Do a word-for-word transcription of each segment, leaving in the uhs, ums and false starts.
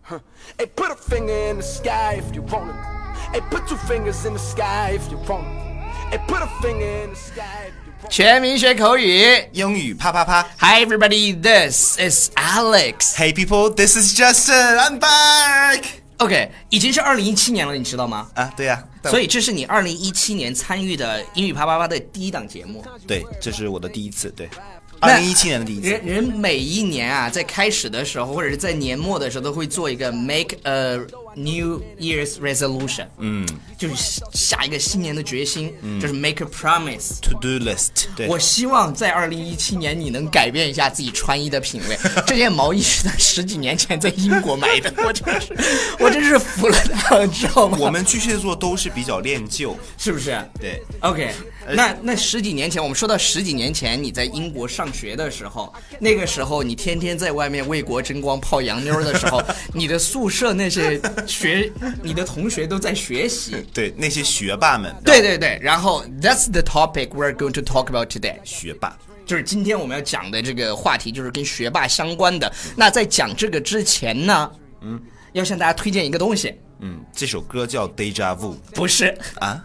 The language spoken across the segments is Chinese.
Hey, put a finger in the sky if you want it. Hey, put two fingers in the sky if you want it. Hey, put a finger in the sky if you want it. 全民学口语， 英语啪啪啪 Hi everybody, this is Alex. Hey people, this is Justin, I'm back. OK, 已经是二零一七年了，你知道吗？ 啊，对呀、啊， 所以这是你二零一七年参与的英语啪啪啪的第一档节目。 对，这是我的第一次，对，二零一七年的第一次。 人人每一年啊，在开始的时候，或者是在年末的时候，都会做一个 make a New Year's resolution， 嗯，就是下一个新年的决心，嗯、就是 make a promise to do list。对， 我希望在二零一七年你能改变一下自己穿衣的品味。这件毛衣是他十几年前在英国买的，我真是，我真是服了他了，知道吗？ 我们巨蟹座都是比较恋旧， 是不是？ 对 ，OK， 那那十几年前，我们说到十几年前你在英国上学的时候，那个时候你天天在外面为国争光泡洋妞的时候，你的宿舍那些学，你的同学都在学习， 对，那些学霸们， 对对对，然后 that's the topic we're going to talk about today， 学霸。 就是今天我们要讲的这个话题，就是跟学霸相关的。那在讲这个之前呢，嗯，要向大家推荐一个东西。 嗯，这首歌叫 Deja Vu， 不是啊，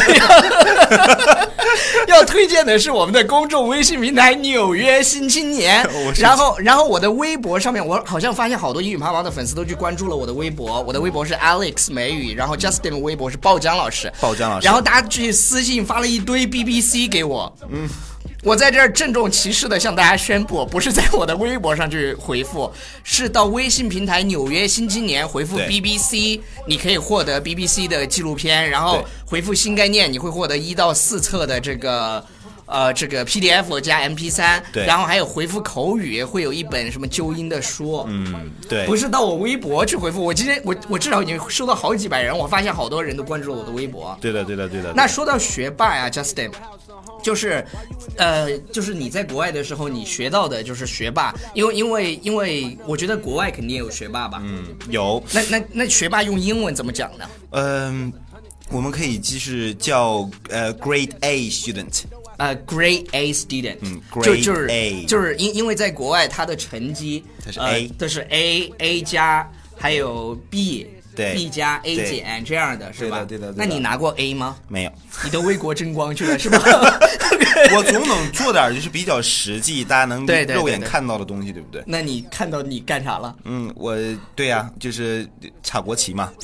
要推荐的是我们的公众微信平台《纽约新青年》。然后，然后我的微博上面，我好像发现好多英语啪啪的粉丝都去关注了我的微博。我的微博是 Alex 美语，然后 Justin 的微博是鲍江老师。 鲍江老师。 然后大家去私信发了一堆 B B C 给我。嗯。我在这儿郑重其事的向大家宣布，不是在我的微博上去回复，是到微信平台纽约新青年回复 B B C， 你可以获得 B B C 的纪录片，然后回复新概念，你会获得一到四册的这个呃这个 P D F 加 M P 三， 然后还有回复口语会有一本什么纠音的书。 嗯，对， 不是到我微博去回复，我今天我我至少已经收到好几百人，我发现好多人都关注了我的微博。 对的对的对的。 那说到学霸呀 ，Justin。就是，呃，就是你在国外的时候，你学到的就是学霸，因为因为因为我觉得国外肯定有学霸吧， 嗯，有。 那那那学霸用英文怎么讲呢？ 嗯、呃，我们可以就是叫呃 Grade A student， 呃、uh, Grade A student， 嗯 ，Grade 就就是 A， 就是因因为在国外他的成绩它是 A， 它、呃、是 A A 加还有 B。 对 B 加 A 减这样的是吧？ 对的对的对的。 那你拿过 A 吗？ 没有。 你都为国争光去了是吧？ 我总能做点就是比较实际，大家能肉眼看到的东西， 对, 对, 对, 对, 对, 对不对？ 那你看到你干啥了？ 嗯，我对呀、啊，就是插国旗嘛。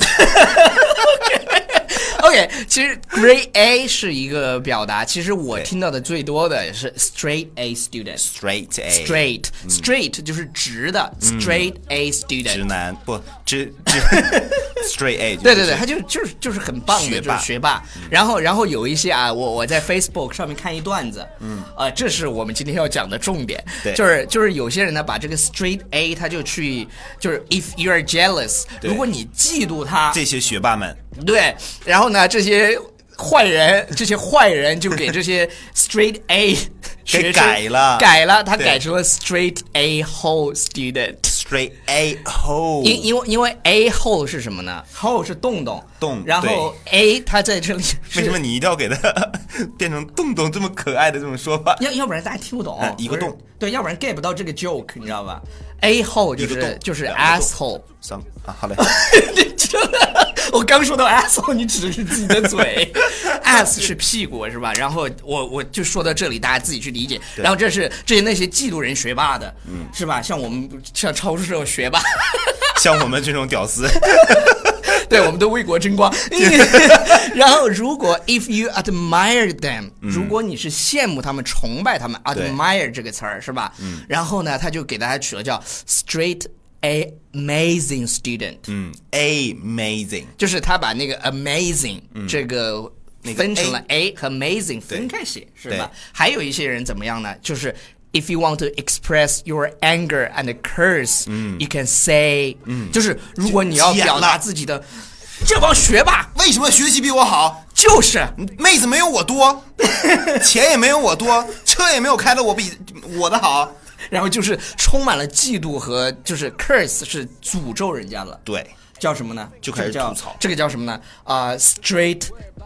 OK， 其实 Grade A 是一个表达，其实我听到的最多的是 Straight A student。Straight A。Straight Straight、嗯、就是直的、嗯、Straight A student。 直男不直直 Straight A 、就是。 对对对，他就就是就是很棒的学霸，就是学霸。然后然后有一些啊，我我在 Facebook 上面看一段子，嗯，呃，这是我们今天要讲的重点， 对， 就是就是有些人呢把这个 Straight A 他就去就是 If you are jealous， 如果你嫉妒他， 这些学霸们。 对，然后呢，这些坏人，这些坏人就给这些 straight A 给改了， 改了，他改成了 straight A hole student。straight A hole， 因因为因为 A hole 是什么呢 ？hole 是洞洞， 洞， 然后 A 它在这里， 为什么你一定要给它变成洞洞这么可爱的这种说法？ 要要不然大家听不懂， 嗯、一个洞， 对，要不然 get 不到这个 joke， 你知道吧 ？A hole 就是就是 asshole， 三啊，好嘞。 我刚说到 asshole， 你指的是自己的嘴，ass 是屁股是吧？然后我我就说到这里，大家自己去理解。然后这是这是那些嫉妒人学霸的，嗯，是吧？像我们像超市这种学霸， 像我们这种屌丝， 对，我们都为国争光。然后如果 if you admire them，、嗯、如果你是羡慕他们、崇拜他们 ，admire 这个词儿是吧？嗯，然后呢，他就给大家取了叫 straight。A amazing student， 嗯 ，amazing， 就是他把那个 amazing、嗯、这个分成了 A 和 amazing 分开写，是吧？还有一些人怎么样呢？就是 if you want to express your anger and curse，、嗯、you can say，、嗯、就是如果你要表达自己的，这帮学霸为什么学习比我好？ 就是妹子没有我多，钱也没有我多，车也没有开的我比我的好。 然后就是充满了嫉妒和就是 curse 是诅咒人家了， 对， 叫什么呢？ 就开始吐槽。 这个叫什么呢？啊、uh, ，straight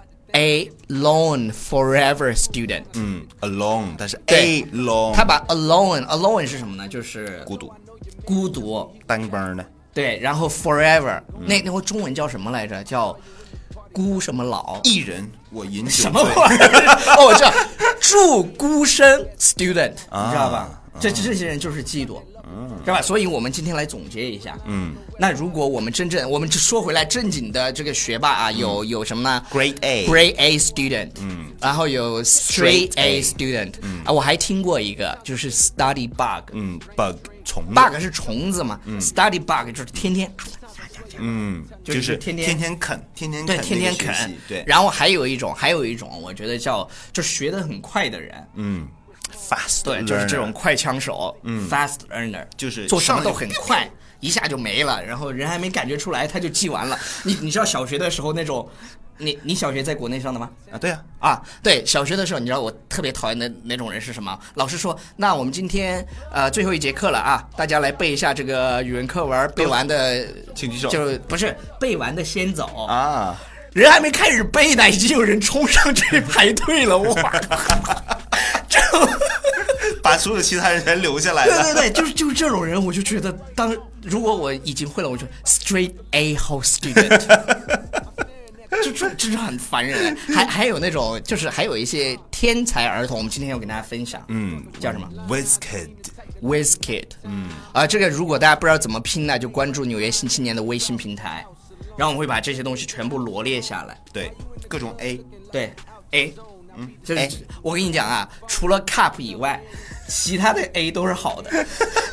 A lone forever student。 嗯 ，alone， 但是 A lone， 他把 alone alone 是什么呢？就是孤独， 孤独， 单帮的。 对，然后 forever，、嗯、那那个中文叫什么来着？叫孤什么老？ 一人我饮酒醉。 什么玩意儿？哦，我知道，祝孤生 student，、啊、你知道吧？啊、这这些人就是嫉妒。嗯，是吧？所以我们今天来总结一下。嗯，那如果我们真正，我们说回来正经的这个学霸啊，有、嗯、有什么呢 ？Grade A，Grade A student， 嗯，然后有 Straight A student， 嗯啊，我还听过一个就是 Study bug， 嗯 ，bug 虫子 ，bug 是虫子嘛、嗯、，Study bug 就是天天， 嗯， 就是天天天天啃，天天对天天啃， 对。 然后还有一种，还有一种，我觉得叫就学得很快的人， 嗯。Fast， 对，就是这种快枪手，嗯 ，fast learner， 就是做什么都很快，一下就没了，然后人还没感觉出来，他就记完了。你你知道小学的时候那种，你你小学在国内上的吗？ 啊，对啊， 啊，对，小学的时候，你知道我特别讨厌的那种人是什么？老师说，那我们今天呃最后一节课了啊，大家来背一下这个语文课文，背完的请举手， 就不是背完的先走啊， 人还没开始背呢，已经有人冲上去排队了，哇！ 把所有其他人全留下来了。 对对对，就是就是这种人，我就觉得当如果我已经会了，我就 straight A whole student， 就这这是很烦人。还还有那种就是还有一些天才儿童，我们今天要给大家分享， 嗯， 叫什么 ？Whiz Kid。 Whiz Kid， 嗯，啊，这个如果大家不知道怎么拼呢，就关注纽约新青年的微信平台，然后我们会把这些东西全部罗列下来。 对，各种 A， 对 A。嗯，就是我跟你讲啊，除了 cup 以外，其他的 A 都是好的。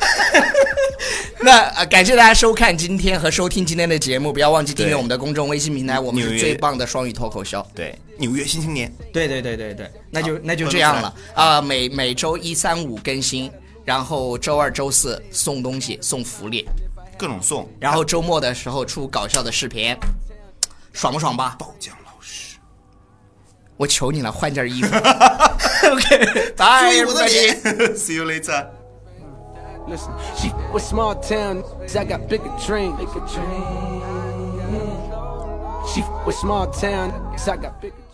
那、呃、感谢大家收看今天和收听今天的节目，不要忘记订阅我们的公众微信平台，我们是最棒的双语脱口秀。 对，纽约新青年。 对对对对对，那就那就这样了啊、呃！每每周一、三、五更新，然后周二、周四送东西、送福利， 各种送， 然后周末的时候出搞笑的视频，爽不爽吧？ 爆浆老师。 我求你了，换件衣服。OK， 拜， 注意我的脸。See you later. Listen, she was small town, I got bigger dreams. She was small town, I got bigger.